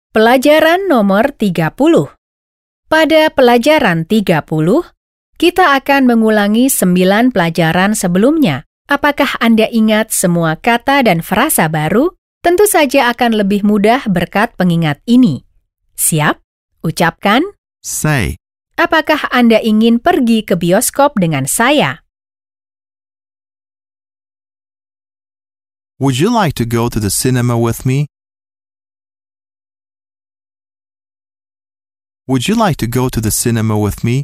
Pelajaran nomor 30. Pada pelajaran 30, kita akan mengulangi 9 pelajaran sebelumnya. Apakah Anda ingat semua kata dan frasa baru? Tentu saja akan lebih mudah berkat pengingat ini. Siap? Ucapkan. Say. Apakah Anda ingin pergi ke bioskop dengan saya? Would you like to go to the cinema with me? Would you like to go to the cinema with me?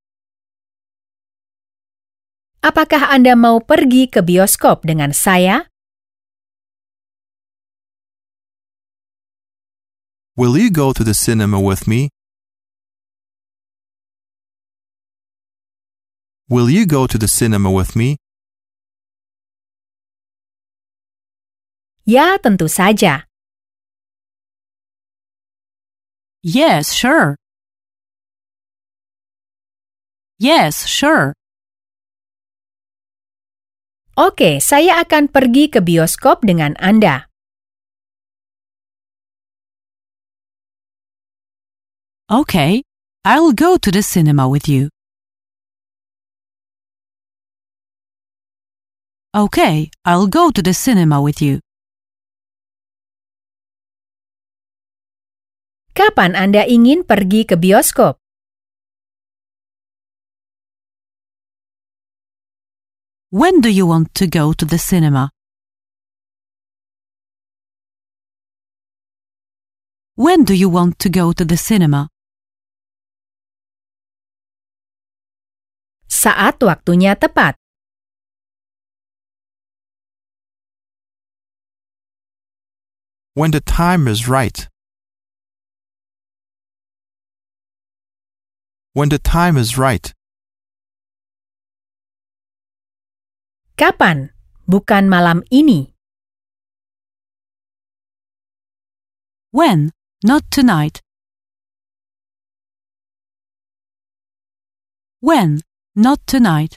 Apakah Anda mau pergi ke bioskop dengan saya? Will you go to the cinema with me? Will you go to the cinema with me? Ya, tentu saja. Yes, sure. Yes, sure. Oke, saya akan pergi ke bioskop dengan Anda. Okay, I'll go to the cinema with you. Okay, I'll go to the cinema with you. Kapan Anda ingin pergi ke bioskop? When do you want to go to the cinema? When do you want to go to the cinema? Saat waktunya tepat. When the time is right. When the time is right. Kapan? Bukan malam ini. When? Not tonight. When? Not tonight.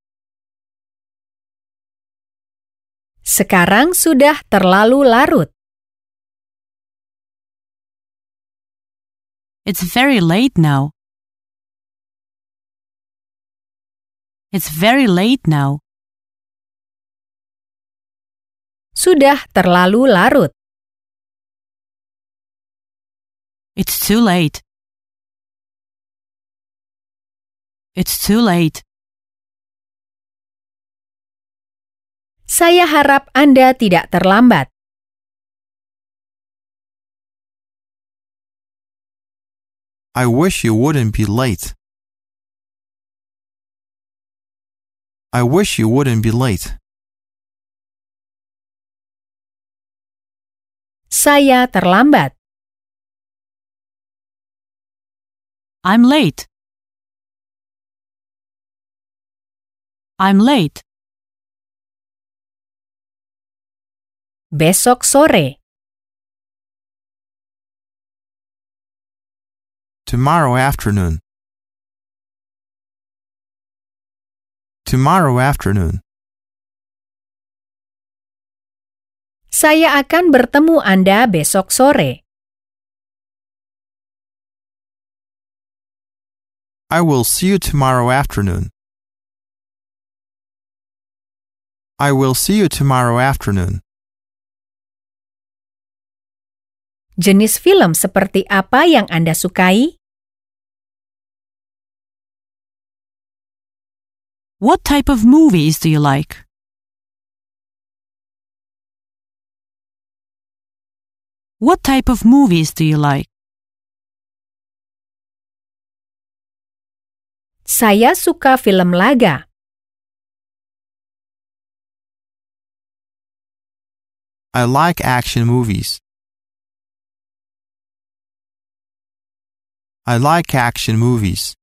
Sekarang sudah terlalu larut. It's very late now. It's very late now. Sudah terlalu larut. It's too late. It's too late. Saya harap Anda tidak terlambat. I wish you wouldn't be late. I wish you wouldn't be late. Saya terlambat. I'm late. I'm late. Besok sore. Tomorrow afternoon. Tomorrow afternoon. Saya akan bertemu Anda besok sore. I will see you tomorrow afternoon. I will see you tomorrow afternoon. Jenis film seperti apa yang Anda sukai? What type of movies do you like? What type of movies do you like? Saya suka film laga. I like action movies. I like action movies.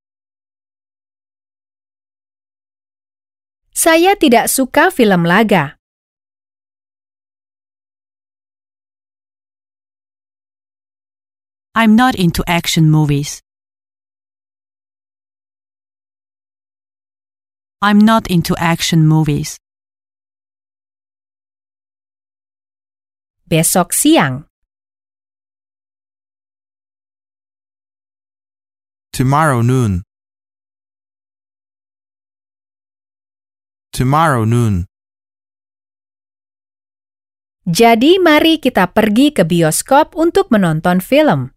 Saya tidak suka film laga. I'm not into action movies. I'm not into action movies. Besok siang. Tomorrow noon. Tomorrow noon. Jadi mari kita pergi ke bioskop untuk menonton film.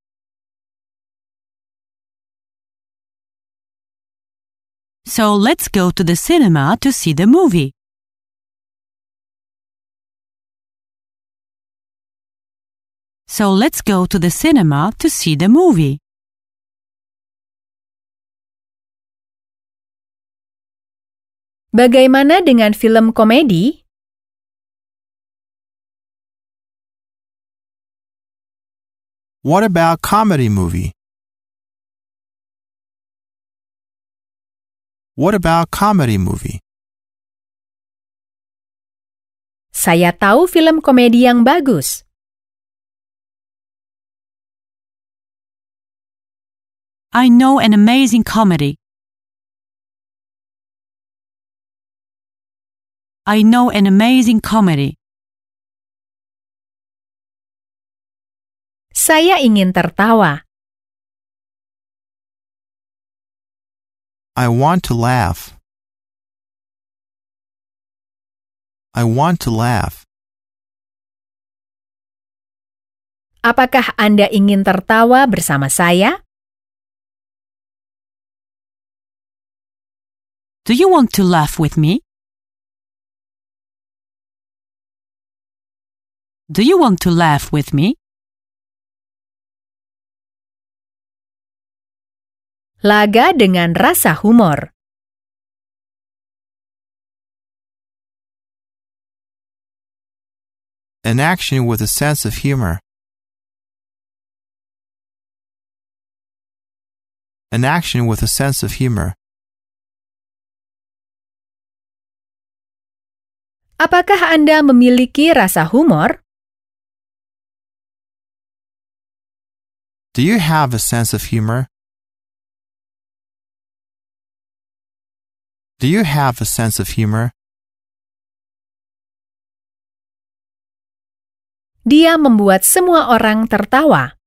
So let's go to the cinema to see the movie. So let's go to the cinema to see the movie. Bagaimana dengan film komedi? What about comedy movie? What about comedy movie? Saya tahu film komedi yang bagus. I know an amazing comedy. I know an amazing comedy. Saya ingin tertawa. I want to laugh. I want to laugh. Apakah Anda ingin tertawa bersama saya? Do you want to laugh with me? Do you want to laugh with me? Laga dengan rasa humor. An action with a sense of humor. An action with a sense of humor. Apakah Anda memiliki rasa humor? Do you have a sense of humor? Do you have a sense of humor? Dia membuat semua orang tertawa.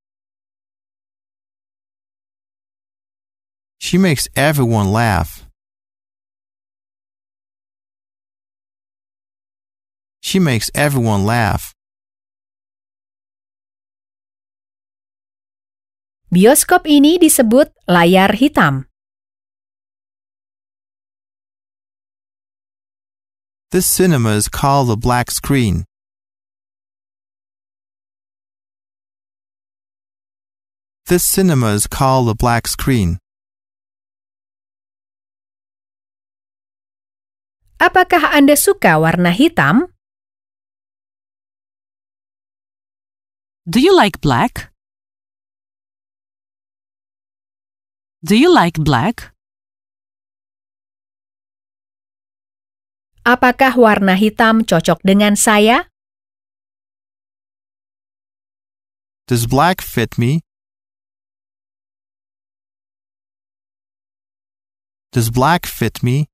She makes everyone laugh. She makes everyone laugh. Bioskop ini disebut layar hitam. This cinema is called a black screen. This cinema is called a black screen. Apakah Anda suka warna hitam? Do you like black? Do you like black? Apakah warna hitam cocok dengan saya? Does black fit me? Does black fit me?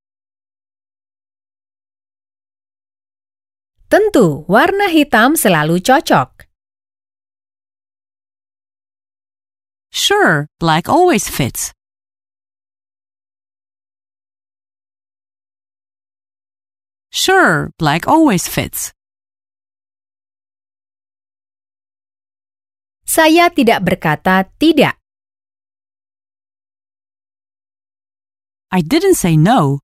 Tentu, warna hitam selalu cocok. Sure, black always fits. Sure, black always fits. Saya tidak berkata tidak. I didn't say no.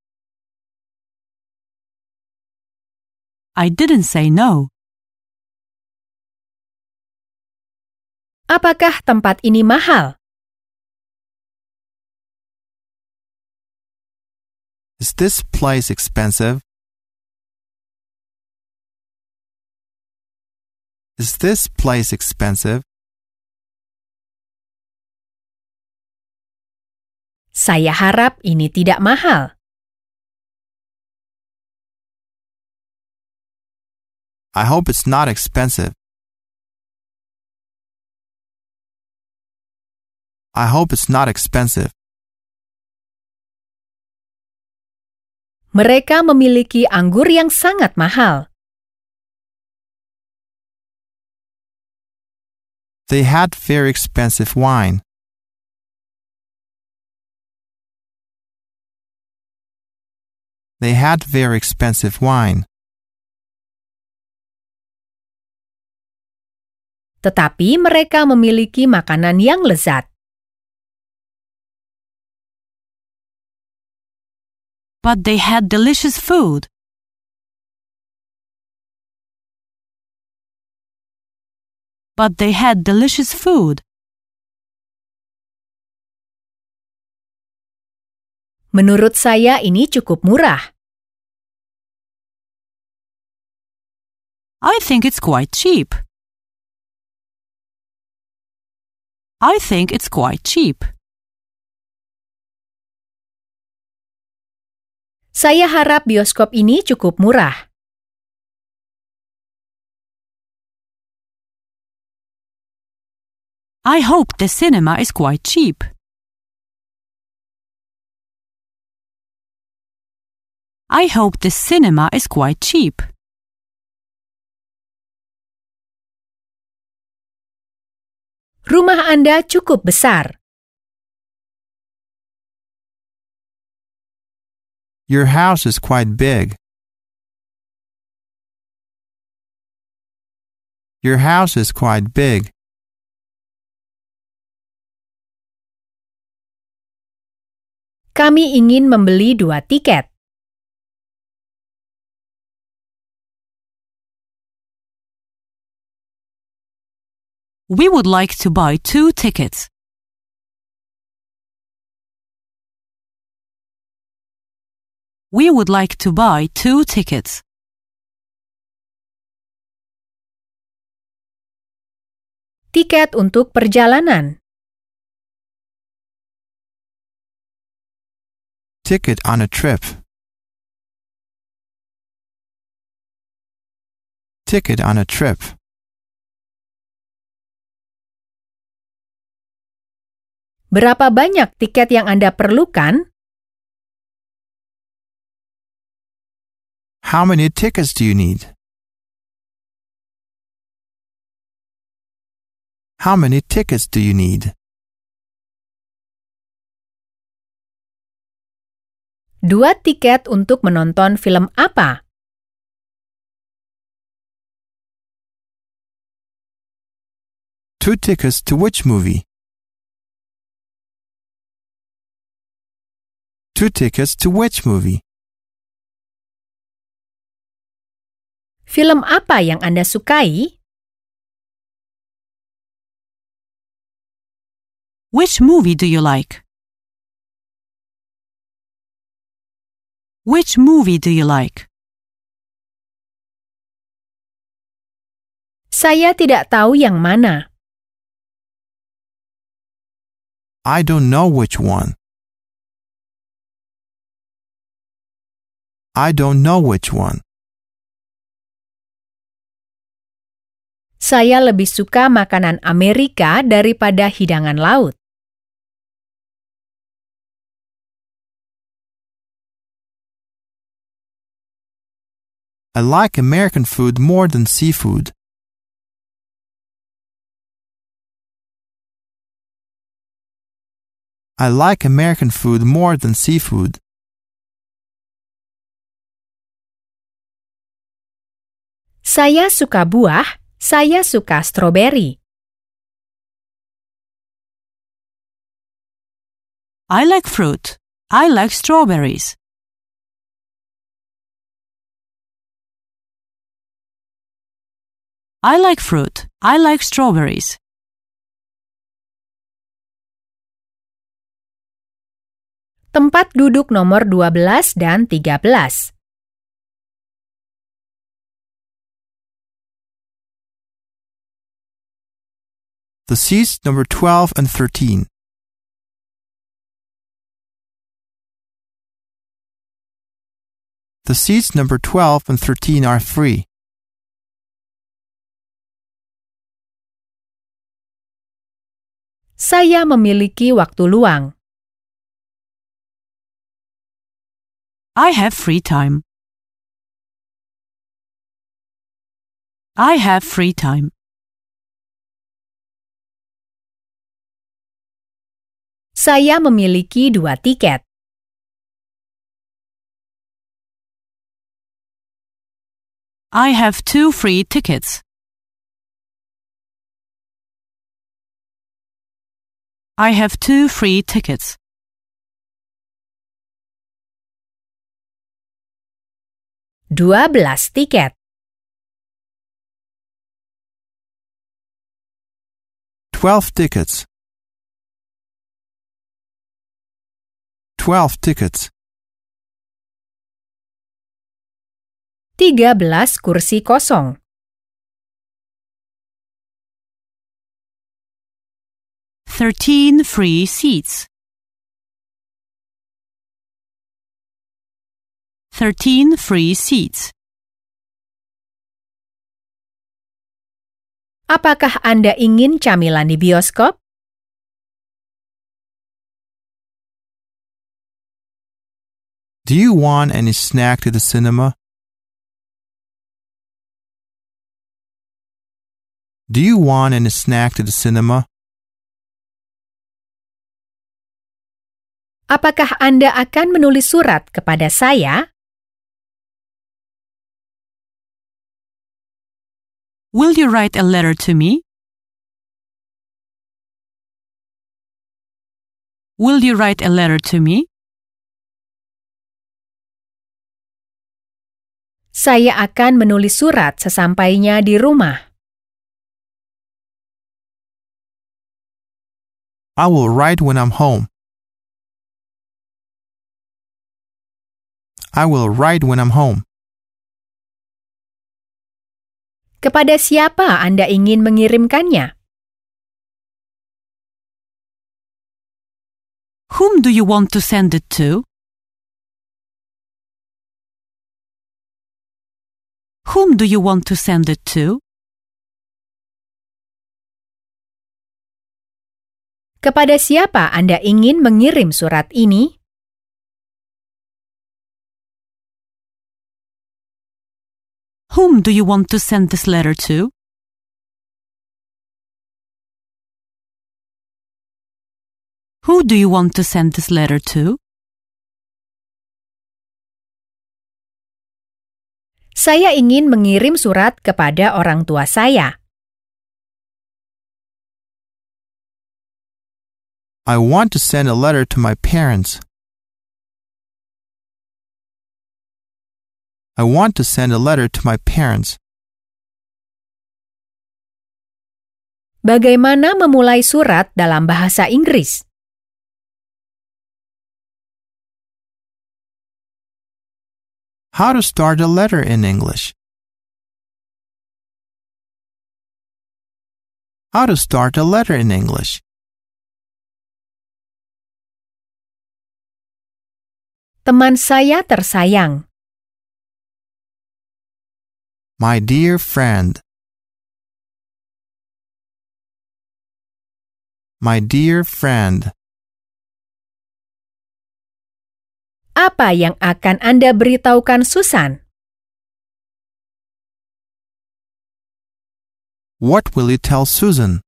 I didn't say no. Apakah tempat ini mahal? Is this place expensive? Is this place expensive? Saya harap ini tidak mahal. I hope it's not expensive. I hope it's not expensive. Mereka memiliki anggur yang sangat mahal. They had very expensive wine. They had very expensive wine. Tetapi mereka memiliki makanan yang lezat. But they had delicious food. But they had delicious food. Menurut saya ini cukup murah. I think it's quite cheap. I think it's quite cheap. Saya harap bioskop ini cukup murah. I hope the cinema is quite cheap. I hope the cinema is quite cheap. Rumah Anda cukup besar. Your house is quite big. Your house is quite big. Kami ingin membeli 2 tiket. We would like to buy 2 tickets. We would like to buy 2 tickets. Tiket untuk perjalanan. Ticket on a trip. Ticket on a trip. Berapa banyak tiket yang Anda perlukan? How many tickets do you need? How many tickets do you need? 2 tiket untuk menonton film apa? Two tickets to which movie? Two tickets to which movie? Film apa yang Anda sukai? Which movie do you like? Which movie do you like? Saya tidak tahu yang mana. I don't know which one. I don't know which one. Saya lebih suka makanan Amerika daripada hidangan laut. I like American food more than seafood. I like American food more than seafood. Saya suka buah, saya suka stroberi. I like fruit. I like strawberries. I like fruit. I like strawberries. Tempat duduk nomor 12 dan 13. The seats number 12 and 13. The seats number 12 and 13 are free. Saya memiliki waktu luang. I have free time. I have free time. Saya memiliki 2 tiket. I have 2 free tickets. I have 2 free tickets. Dua belas tiket. 12 tickets. 12 tickets. 13 kursi kosong. 13 free seats. 13 free seats. Apakah Anda ingin camilan di bioskop? Do you want any snack to the cinema? Do you want any snack to the cinema? Apakah Anda akan menulis surat kepada saya? Will you write a letter to me? Will you write a letter to me? Saya akan menulis surat sesampainya di rumah. I will write when I'm home. I will write when I'm home. Kepada siapa Anda ingin mengirimkannya? Whom do you want to send it to? Whom do you want to send it to? Kepada siapa Anda ingin mengirim surat ini? Whom do you want to send this letter to? Who do you want to send this letter to? Saya ingin mengirim surat kepada orang tua saya. I want to send a letter to my parents. I want to send a letter to my parents. Bagaimana memulai surat dalam bahasa Inggris? How to start a letter in English. How to start a letter in English. Teman saya tersayang. My dear friend. My dear friend. Apa yang akan Anda beritahukan Susan? What will you tell Susan?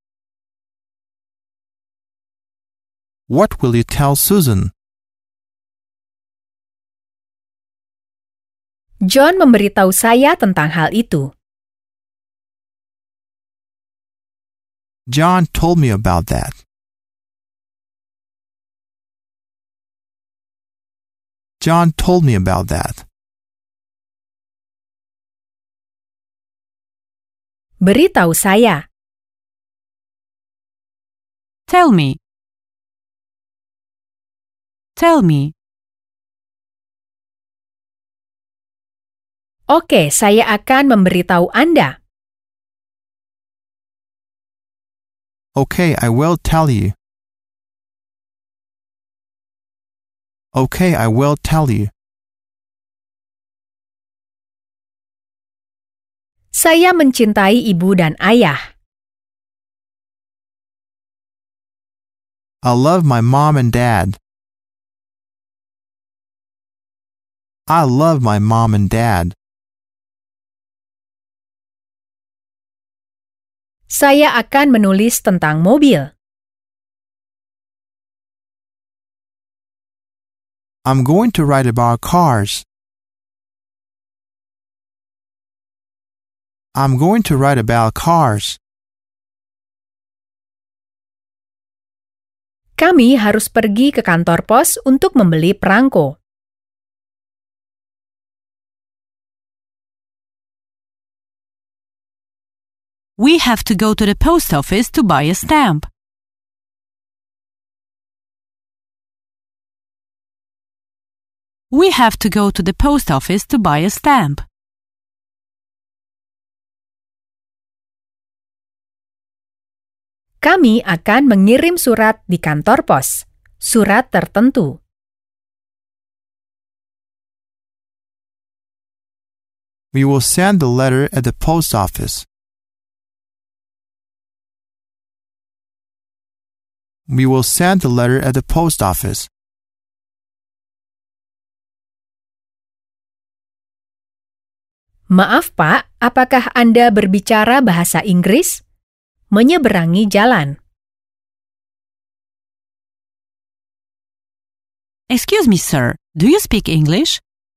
What will you tell Susan? John memberitahu saya tentang hal itu. John told me about that. John told me about that. Beritahu saya. Tell me. Tell me. Oke, saya akan memberitahu Anda. Okay, I will tell you. Okay, I will tell you. Saya mencintai ibu dan ayah. I love my mom and dad. I love my mom and dad. Saya akan menulis tentang mobil. I'm going to write about cars. I'm going to write about cars. Kami harus pergi ke kantor pos untuk membeli perangko. We have to go to the post office to buy a stamp. We have to go to the post office to buy a stamp. Kami akan mengirim surat di kantor pos. Surat tertentu. We will send the letter at the post office. We will send the letter at the post office. Maaf Pak, apakah Anda berbicara bahasa Inggris? Menyeberangi jalan. Excuse me, sir. Do you speak English?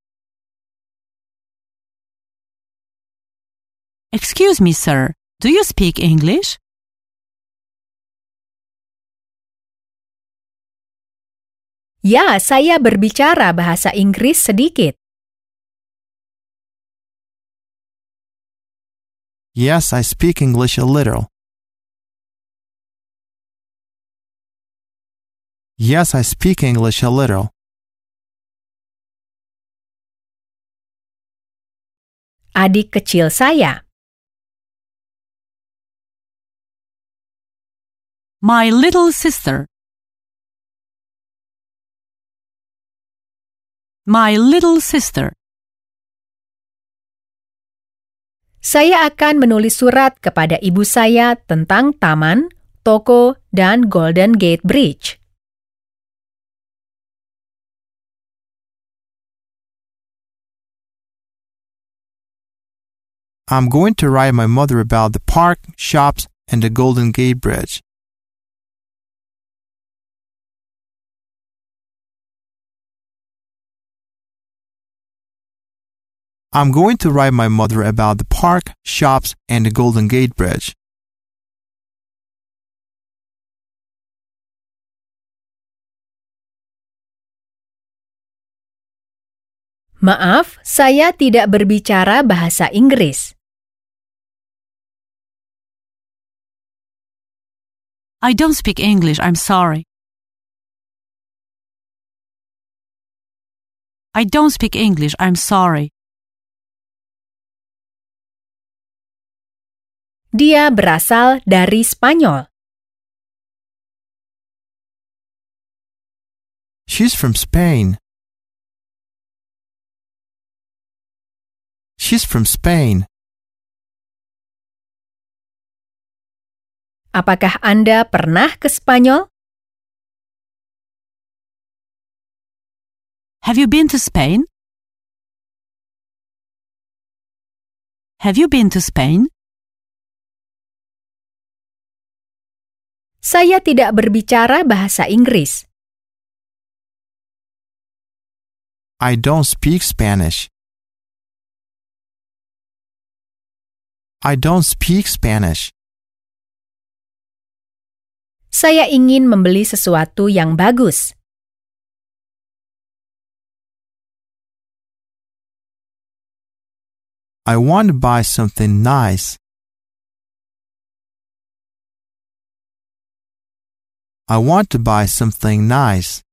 Excuse me, sir. Do you speak English? Ya, saya berbicara bahasa Inggris sedikit. Yes, I speak English a little. Yes, I speak English a little. Adik kecil saya. My little sister. My little sister. Saya akan menulis surat kepada ibu saya tentang taman, toko, dan Golden Gate Bridge. I'm going to write my mother about the park, shops, and the Golden Gate Bridge. I'm going to write my mother about the park, shops, and the Golden Gate Bridge. Maaf, saya tidak berbicara bahasa Inggris. I don't speak English, I'm sorry. I don't speak English, I'm sorry. Dia berasal dari Spanyol. She's from Spain. She's from Spain. Apakah Anda pernah ke Spanyol? Have you been to Spain? Have you been to Spain? Saya tidak berbicara bahasa Inggris. I don't speak Spanish. I don't speak Spanish. Saya ingin membeli sesuatu yang bagus. I want to buy something nice. I want to buy something nice.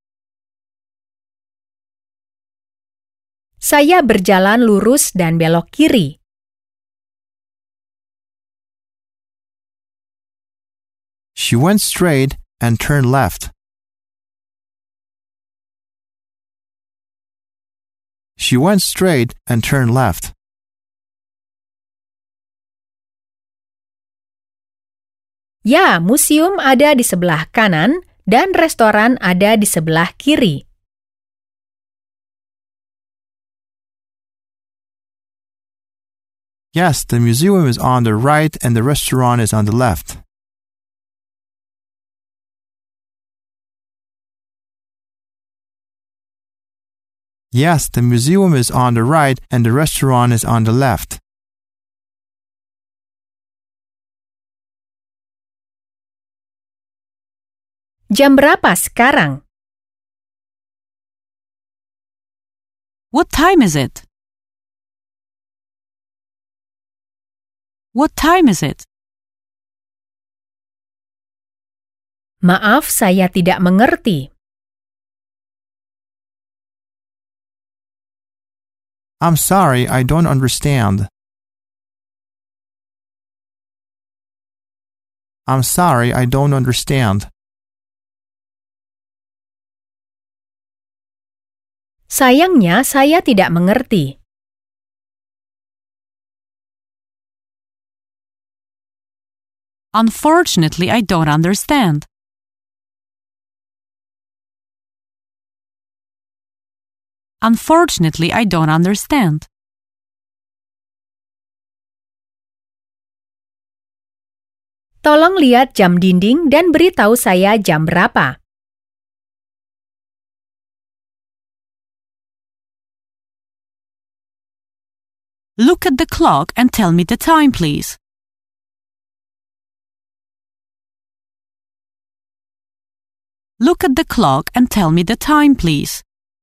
Saya berjalan lurus dan belok kiri. She went straight and turned left. She went straight and turned left. Ya, museum ada di sebelah kanan dan restoran ada di sebelah kiri. Yes, the museum is on the right and the restaurant is on the left. Yes, the museum is on the right and the restaurant is on the left. Jam berapa sekarang? What time is it? What time is it? Maaf, saya tidak mengerti. I'm sorry, I don't understand. I'm sorry, I don't understand. Sayangnya, saya tidak mengerti. Unfortunately, I don't understand. Unfortunately, I don't understand. Tolong lihat jam dinding dan beritahu saya jam berapa. Look at the clock and tell me the time, please. Look at the clock and tell me the time, please.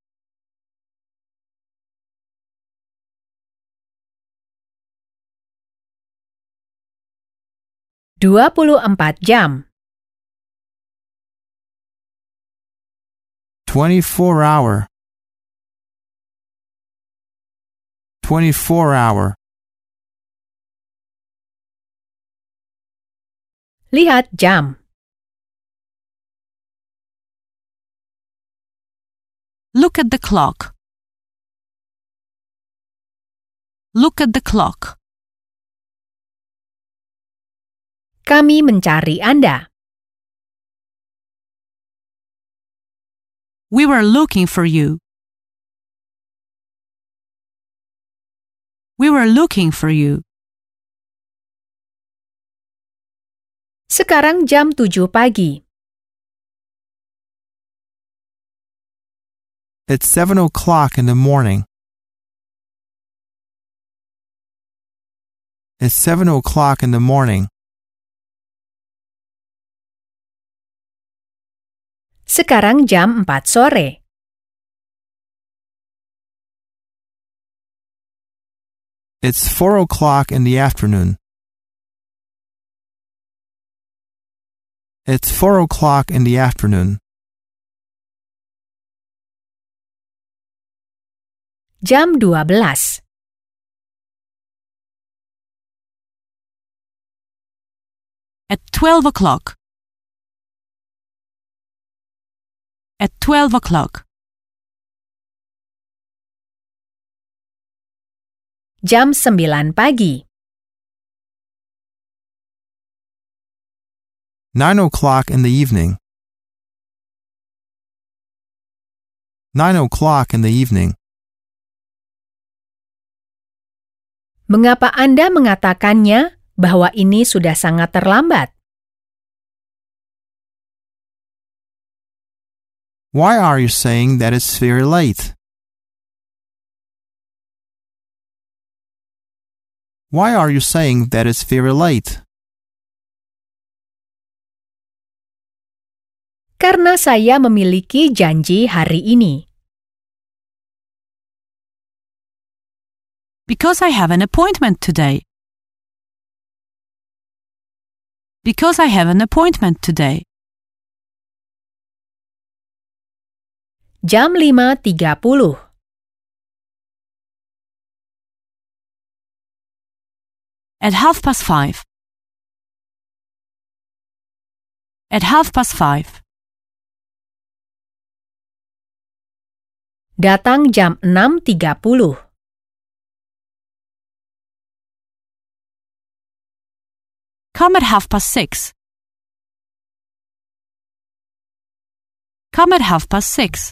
Dua puluh 24 jam. 24 hour. 24 hour. Lihat jam. Look at the clock. Look at the clock. Kami mencari Anda. We were looking for you. We were looking for you. Sekarang jam 7 pagi. It's 7 o'clock in the morning. It's 7 o'clock in the morning. Sekarang jam 4 sore. It's 4 o'clock in the afternoon. It's 4 o'clock in the afternoon. Jam 12. At 12 o'clock. At 12 o'clock. Jam 9 pagi. 9 o'clock in the evening. 9 o'clock in the evening. Mengapa Anda mengatakannya bahwa ini sudah sangat terlambat? Why are you saying that it's very late? Why are you saying that it's very late? Karena saya memiliki janji hari ini. Because I have an appointment today. Because I have an appointment today. Jam 5.30. At 5:30. At 5:30. Datang jam 6.30. Come at 6:30. Come at 6:30.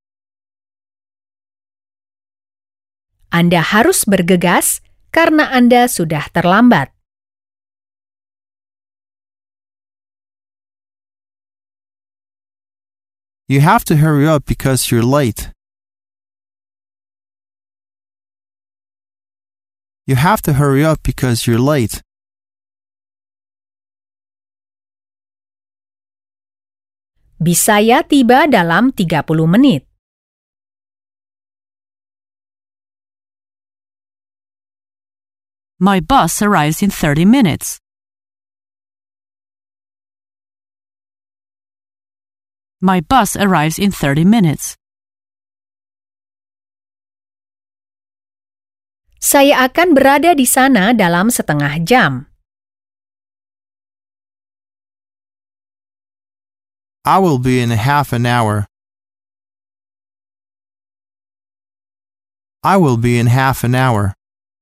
Anda harus bergegas karena Anda sudah terlambat. You have to hurry up because you're late. You have to hurry up because you're late. Bis saya tiba dalam 30 menit. My bus arrives in 30 minutes. My bus arrives in 30 minutes. Saya akan berada di sana dalam setengah jam. I will be in half an hour. I will be in half an hour.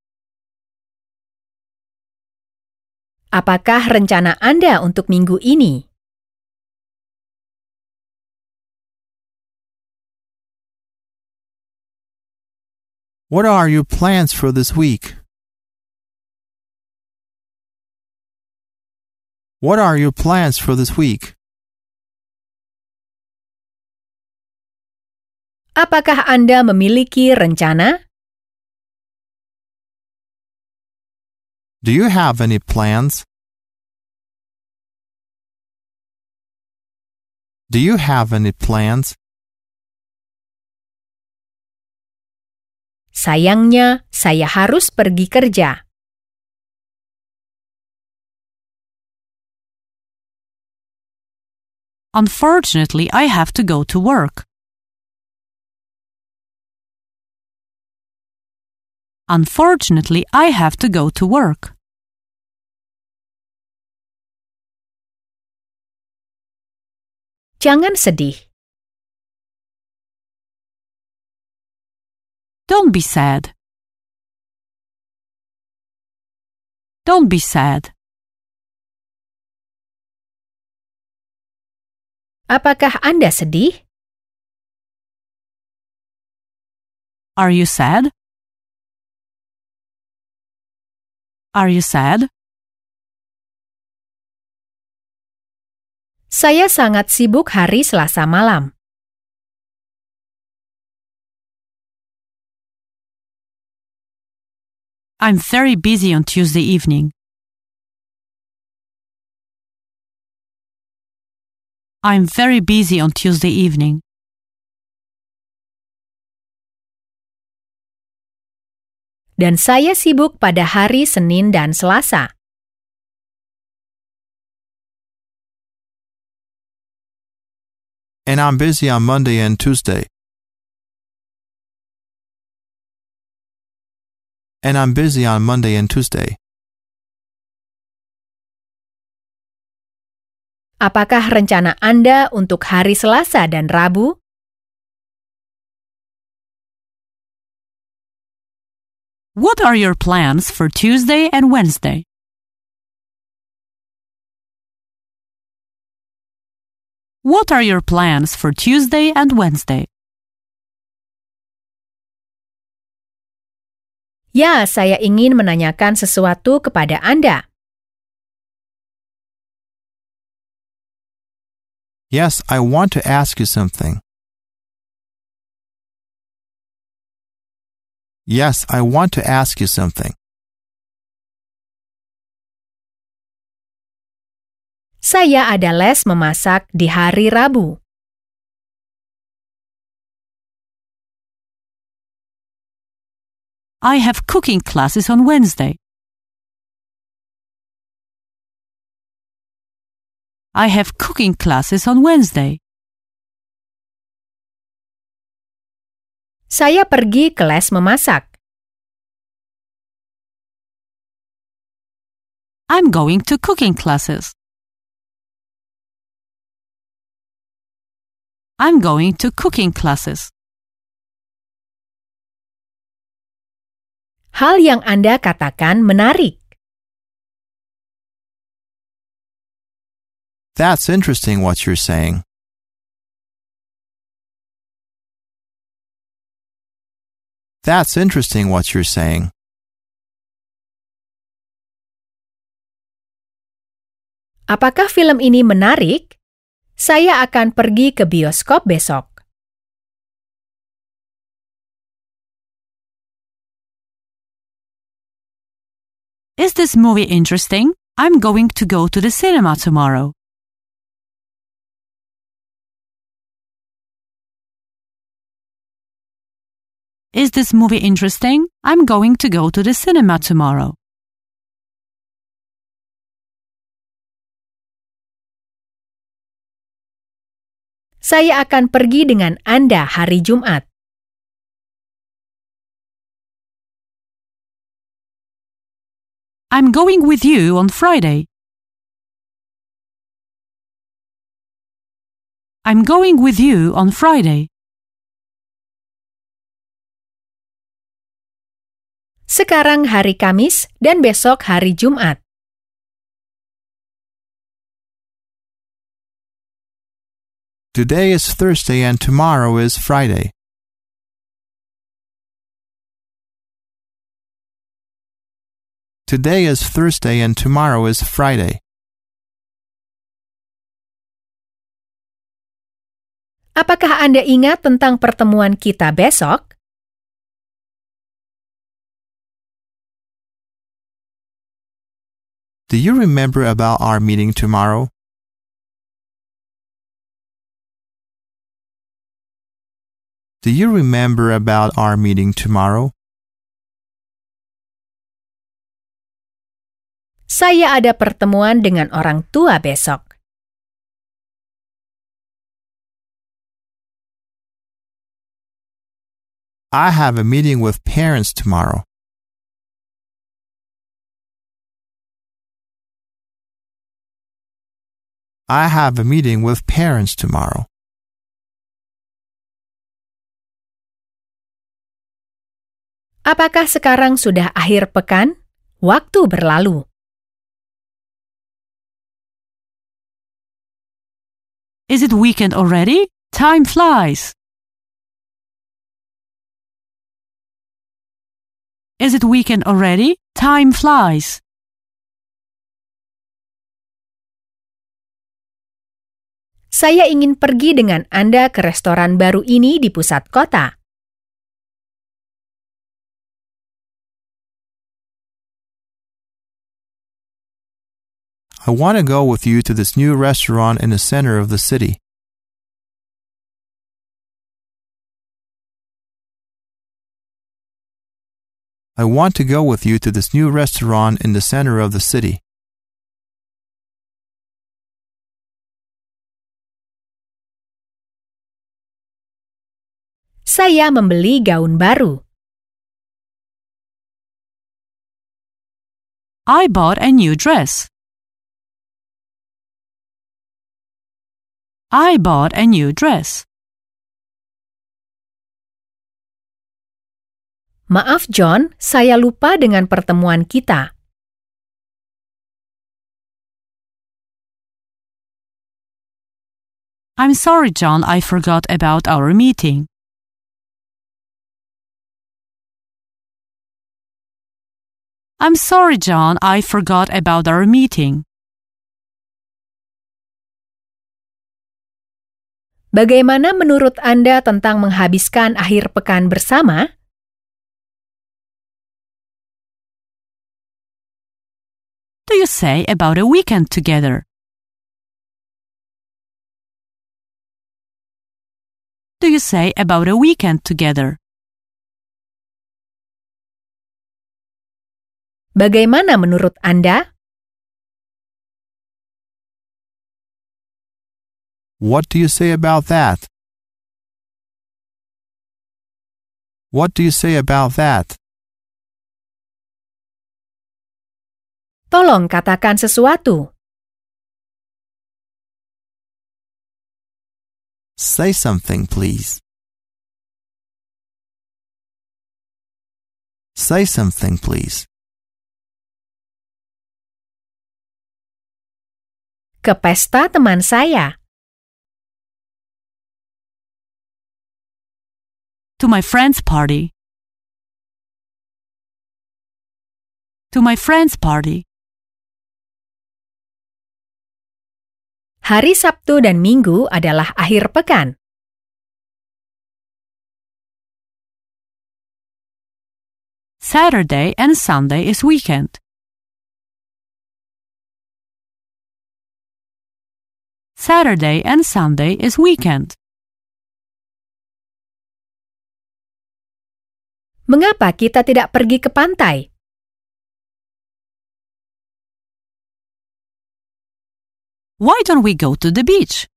Apakah rencana Anda untuk minggu ini? What are your plans for this week? What are your plans for this week? Apakah Anda memiliki rencana? Do you have any plans? Do you have any plans? Sayangnya, saya harus pergi kerja. Unfortunately, I have to go to work. Unfortunately, I have to go to work. Jangan sedih. Don't be sad. Don't be sad. Apakah Anda sedih? Are you sad? Are you sad? Saya sangat sibuk hari Selasa malam. I'm very busy on Tuesday evening. I'm very busy on Tuesday evening. Dan saya sibuk pada hari Senin dan Selasa. And I'm busy on Monday and Tuesday. And I'm busy on Monday and Tuesday. Apakah rencana Anda untuk hari Selasa dan Rabu? What are your plans for Tuesday and Wednesday? What are your plans for Tuesday and Wednesday? Ya, saya ingin menanyakan sesuatu kepada Anda. Yes, I want to ask you something. Yes, I want to ask you something. Saya ada les memasak di hari Rabu. I have cooking classes on Wednesday. I have cooking classes on Wednesday. Saya pergi ke les memasak. I'm going to cooking classes. I'm going to cooking classes. Hal yang Anda katakan menarik. That's interesting what you're saying. That's interesting what you're saying. Apakah film ini menarik? Saya akan pergi ke bioskop besok. Is this movie interesting? I'm going to go to the cinema tomorrow. Is this movie interesting? I'm going to go to the cinema tomorrow. Saya akan pergi dengan Anda hari Jumat. I'm going with you on Friday. I'm going with you on Friday. Sekarang hari Kamis dan besok hari Jumat. Today is Thursday and tomorrow is Friday. Today is Thursday and tomorrow is Friday. Apakah Anda ingat tentang pertemuan kita besok? Do you remember about our meeting tomorrow? Do you remember about our meeting tomorrow? Saya ada pertemuan dengan orang tua besok. I have a meeting with parents tomorrow. I have a meeting with parents tomorrow. Apakah sekarang sudah akhir pekan? Waktu berlalu. Is it weekend already? Time flies. Is it weekend already? Time flies. Saya ingin pergi dengan Anda ke restoran baru ini di pusat kota. I want to go with you to this new restaurant in the center of the city. I want to go with you to this new restaurant in the center of the city. Saya membeli gaun baru. I bought a new dress. I bought a new dress. Maaf John, saya lupa dengan pertemuan kita. I'm sorry, John, I forgot about our meeting. I'm sorry, John, I forgot about our meeting. Bagaimana menurut Anda tentang menghabiskan akhir pekan bersama? Do you say about a weekend together? Do you say about a weekend together? Bagaimana menurut Anda? What do you say about that? What do you say about that? Tolong katakan sesuatu. Say something, please. Say something, please. Ke pesta teman saya. To my friend's party. To my friend's party. Hari Sabtu dan Minggu adalah akhir pekan. Saturday and Sunday is weekend. Saturday and Sunday is weekend. Mengapa kita tidak pergi ke pantai? Why don't we go to the beach?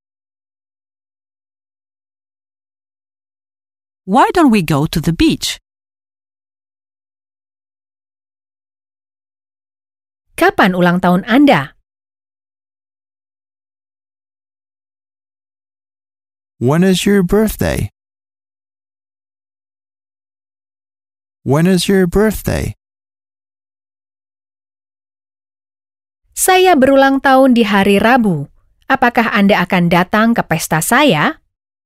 Why don't we go to the beach? Kapan ulang tahun Anda? When is your birthday? When is your birthday? Saya berulang tahun di hari Rabu. Apakah Anda akan datang ke pesta saya?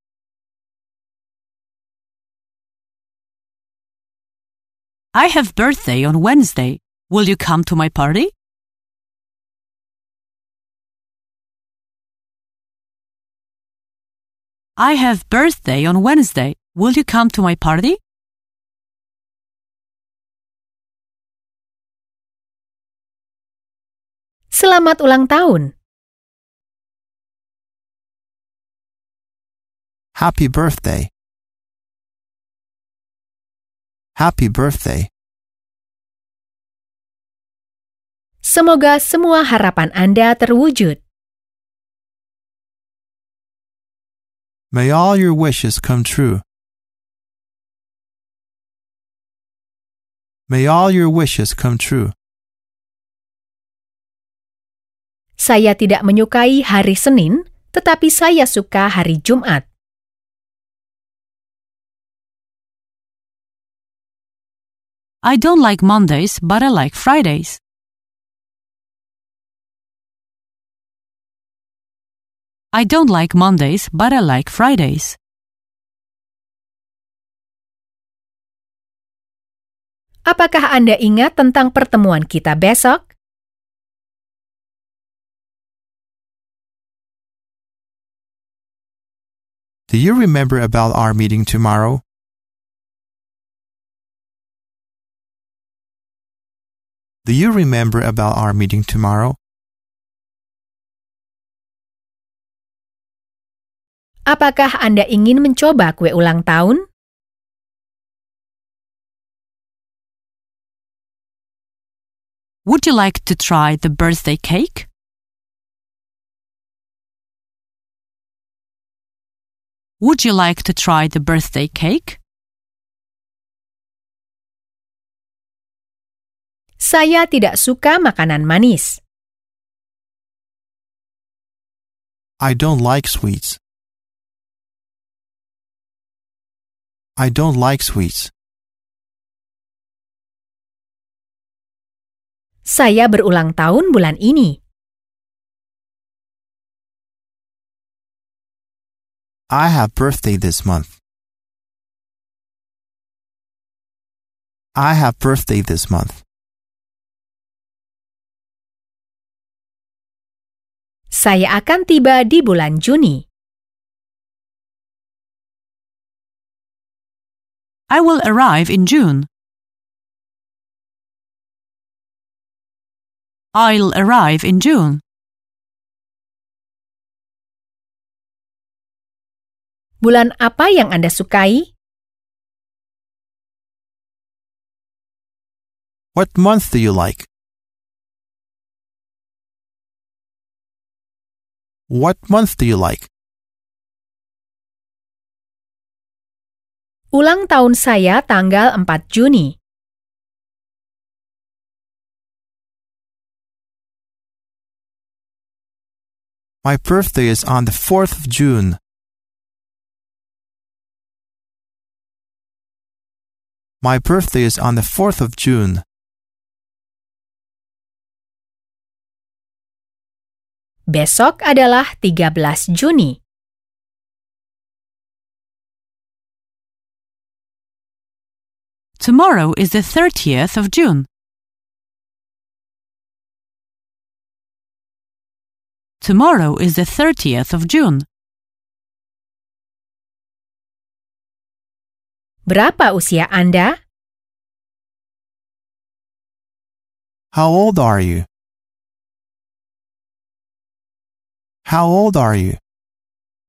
I have birthday on Wednesday. Will you come to my party? I have birthday on Wednesday. Will you come to my party? Selamat ulang tahun. Happy birthday. Happy birthday. Semoga semua harapan Anda terwujud. May all your wishes come true. May all your wishes come true. Saya tidak menyukai hari Senin, tetapi saya suka hari Jumat. I don't like Mondays, but I like Fridays. I don't like Mondays, but I like Fridays. Apakah Anda ingat tentang pertemuan kita besok? Do you remember about our meeting tomorrow? Do you remember about our meeting tomorrow? Apakah Anda ingin mencoba kue ulang tahun? Would you like to try the birthday cake? Would you like to try the birthday cake? Saya tidak suka makanan manis. I don't like sweets. I don't like sweets. Saya berulang tahun bulan ini. I have birthday this month. I have birthday this month. Saya akan tiba di bulan Juni. I will arrive in June. I'll arrive in June. Bulan apa yang Anda sukai? What month do you like? What month do you like? Ulang tahun saya tanggal 4 Juni. My birthday is on the 4th of June. My birthday is on the 4th of June. Besok adalah 13 Juni. Tomorrow is the 30th of June. Tomorrow is the 30th of June. Berapa usia Anda? How old are you? How old are you?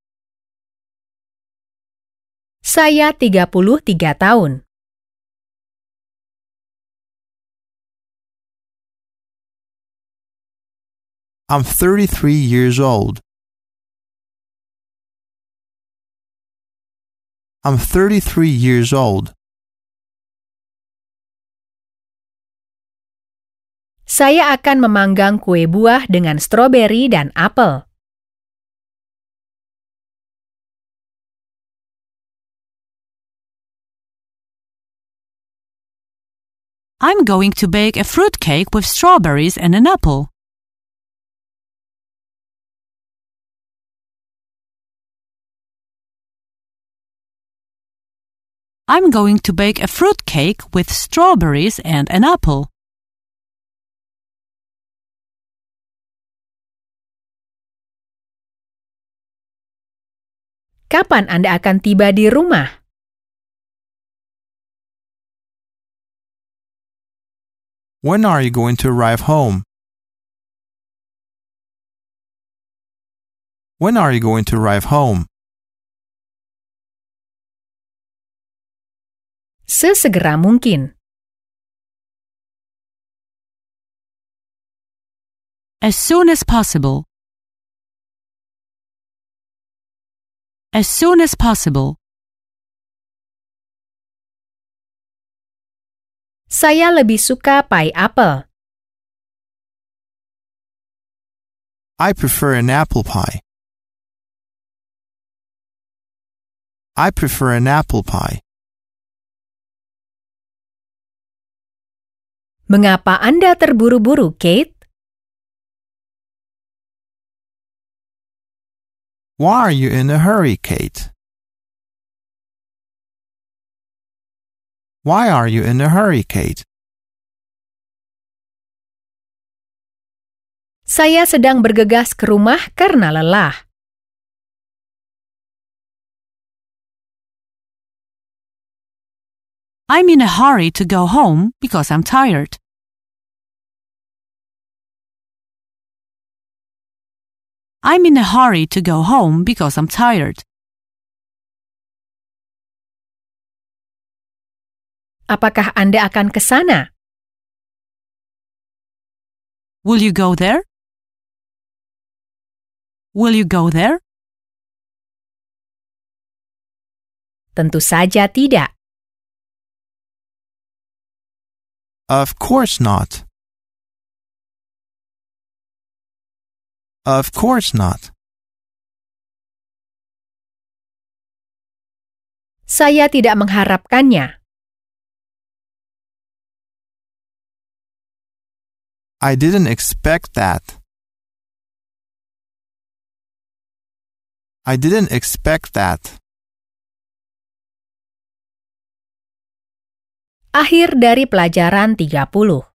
Saya 33 tahun. I'm 33 years old. I'm 33 years old. Saya akan memanggang kue buah dengan stroberi dan apel. I'm going to bake a fruit cake with strawberries and an apple. I'm going to bake a fruit cake with strawberries and an apple. Kapan Anda akan tiba di rumah? When are you going to arrive home? When are you going to arrive home? Sesegera mungkin. As soon as possible. As soon as possible. Saya lebih suka pai apel. I prefer an apple pie. I prefer an apple pie. Mengapa Anda terburu-buru, Kate? Why are you in a hurry, Kate? Why are you in a hurry, Kate? Saya sedang bergegas ke rumah karena lelah. I'm in a hurry to go home because I'm tired. I'm in a hurry to go home because I'm tired. Apakah Anda akan ke sana? Will you go there? Will you go there? Tentu saja tidak. Of course not. Of course not. Saya tidak mengharapkannya. I didn't expect that. I didn't expect that. Akhir dari pelajaran 30.